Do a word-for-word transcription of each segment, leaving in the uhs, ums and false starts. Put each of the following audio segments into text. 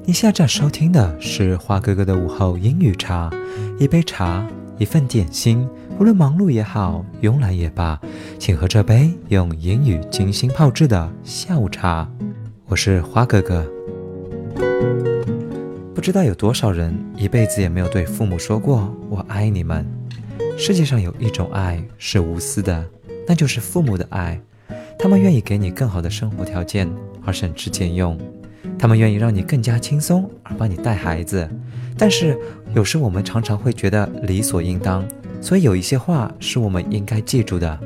你现在收听的是花哥哥的午后英语茶，一杯茶，一份点心，无论忙碌也好，慵懒也罢，请喝这杯用英语精心泡制的下午茶。我是花哥哥。不知道有多少人一辈子也没有对父母说过我爱你们。世界上有一种爱是无私的，那就是父母的爱。他们愿意给你更好的生活条件而省吃俭用，他们愿意让你更加轻松而帮你带孩子。但是有时我们常常会觉得理所应当，所以有一些话是我们应该记住的。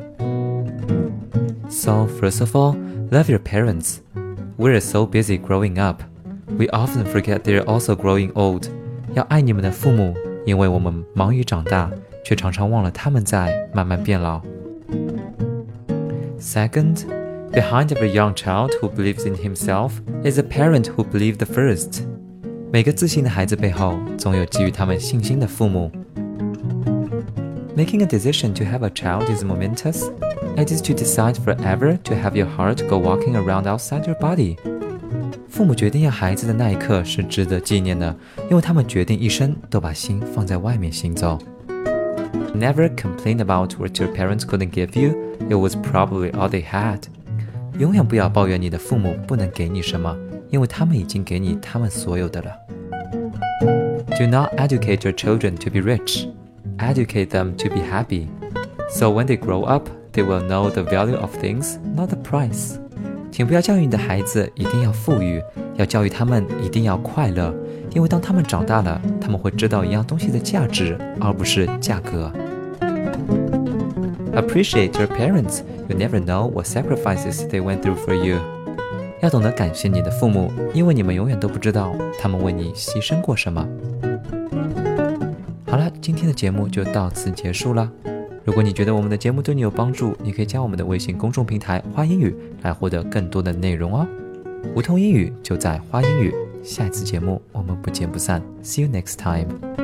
So first of all, love your parents. We're so busy growing up, we often forget they're also growing old. 要爱你们的父母，因为我们忙于长大，却常常忘了他们在慢慢变老。Second, behind every young child who believes in himself is a parent who believed the first. 每个自信的孩子背后，总有给予他们信心的父母。Making a decision to have a child is momentous. It is to decide forever to have your heart go walking around outside your body. 父母决定要孩子的那一刻是值得纪念的，因为他们决定一生都把心放在外面行走。Never complain about what your parents couldn't give you. It was probably all they had. 永远不要抱怨你的父母不能给你什么，因为他们已经给你他们所有的了。Do not educate your children to be rich. Educate them to be happy. So when they grow up, they will know the value of things, not the price. 请不要教育你的孩子一定要富裕，要教育他们一定要快乐，因为当他们长大了，他们会知道一样东西的价值，而不是价格。Appreciate your parents. You never know what sacrifices they went through for you. 要懂得感谢你的父母，因为你们永远都不知道他们为你牺牲过什么。好了，今天的节目就到此结束了。如果你觉得我们的节目对你有帮助，你可以加我们的微信公众平台花英语来获得更多的内容哦。无痛英语就在花英语，下一次节目我们不见不散。See you next time.